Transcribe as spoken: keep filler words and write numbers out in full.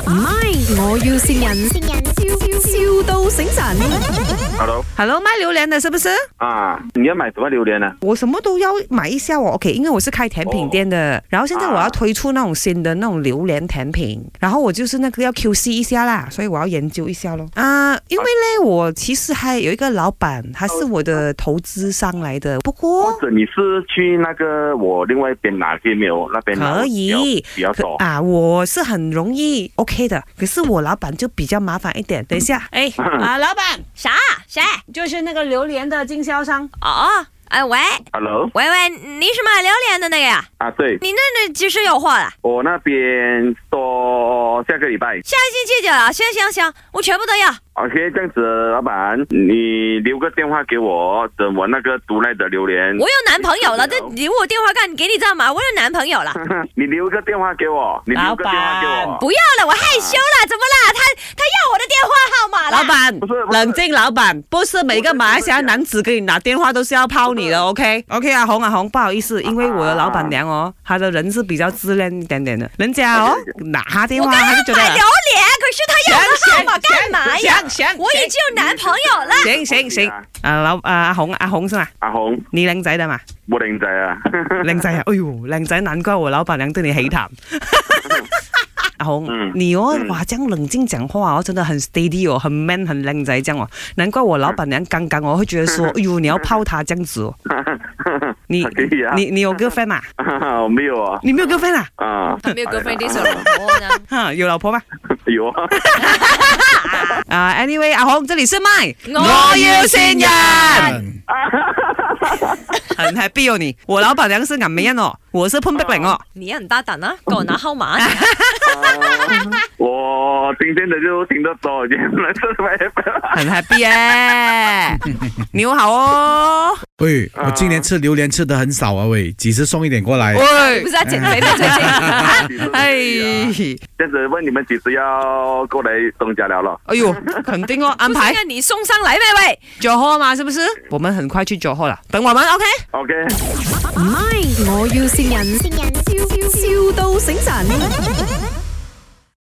唔係，我要線人，笑笑到醒神。 Hello， Hello， 卖榴莲的是不是？ 啊，你要买什么榴莲呢？ 我什么都要买一下哦。OK， 因为我是开甜品店的，哦、然后现在我要推出那种新的那种榴莲甜品，然后我就是那个要 Q C 一下啦，所以我要研究一下咯。啊，因为呢，我其实还有一个老板，他是我的投资商来的，不过或者你是去那个我另外一边拿给没有？那边可以比较多啊，我是很容易 OK 的，可是我老板就比较麻烦一点。等一下，哎啊，老板啥？谁？ 就是那个榴莲的经销商哦。哎喂 ，Hello， 喂喂，你是卖榴莲的那个呀？ 啊，对， 你那那几时有货了？ 我那边说下个礼拜， 下星期就要，行行行，我全部都要。 OK， 这样子，老板，你留个电话给我，等我那个毒来的榴莲。 我有男朋友了，这留我电话干给你知道吗？我有男朋友了。 你留个电话给我，你留个电话给我。 不要了，我害羞了，怎么啦？他他要我的电话号码了。 老板， 不是不是冷静，老板，不是每个马来西亚男子给你拿电话都是要泡你的 ，OK OK 啊，红啊红，不好意思，因为我的老板娘哦，她的人是比较自恋一点点的，人家哦拿电话他就觉得买榴莲，可是他要我的号码干嘛呀？ 行行， 我已经有男朋友了。 行行行，啊老啊阿紅阿紅是嘛？ 阿紅， 你靚仔的嘛？ 我靚仔啊， 靚仔啊！哎呦，靚仔，難怪我老闆娘對你黑談。阿紅，嗯、你哦，哇，這樣冷靜講話哦，真的很 steady 哦，很 man， 很靚仔這樣哦。難怪我老闆娘剛剛我會覺得說，哎呦，你要泡他這樣子哦。你、啊、你你有 girlfriend 嘛？ 我沒有啊。 你沒有 girlfriend 啊？ 啊， 沒有 girlfriend，你有老婆呢？ 哈，有老婆嗎？ 有啊。 啊 ，anyway， 阿紅，這裡是麥， 我要線人。 很 happy 哦你，我老闆娘是顏美欣哦，我是潘碧玲哦。 你也很大膽啊，給我拿號碼。 我今天的就聽得多，原來是很 happy 耶，你好哦。 喂，我今年吃榴莲吃得很少啊，喂，几时送一点过来？ 喂， 不是要減肥嗎？最近？ 哎， 這樣子問你們幾時要過來東家寮了？ 哎呦，肯定哦，安排。 你送上來咩喂？ 九號嘛，是不是？我們很快去九號了，等我們 OK。 OK。 唔係，我要線人，笑笑到醒神。